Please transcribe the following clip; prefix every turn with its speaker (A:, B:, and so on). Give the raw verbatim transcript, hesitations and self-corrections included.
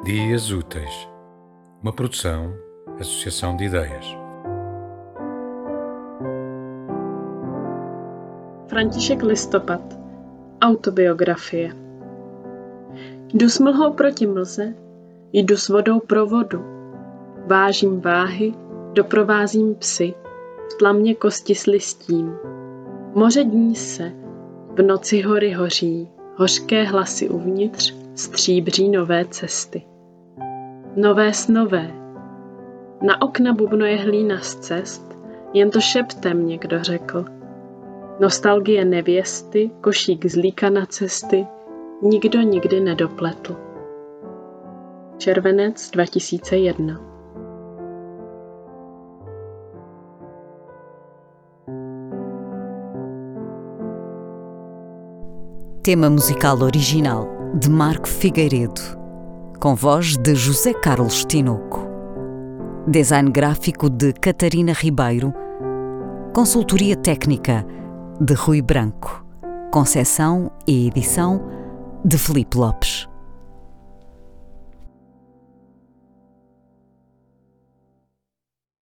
A: Dias Úteis, uma produção, associação de ideias.
B: František Listopad. Autobiografie. Jdu s mlhou proti mlze, jdu s vodou pro vodu. Vážím váhy, doprovázím psy, v tlamě kosti s listím. Moře dní se, v noci hory hoří, hořké hlasy uvnitř stříbří nové cesty. Nové snové. Na okna bubnoje hlína z cest, jen to šeptem někdo řekl. Nostalgie nevěsty, košík zlíka na cesty, nikdo nikdy nedopletl. Červenec dva tisíce jedna.
C: Tema musical original de Marco Figueiredo, com voz de José Carlos Tinoco. Design gráfico de Catarina Ribeiro. Consultoria técnica de Rui Branco. Conceção e edição de Filipe Lopes.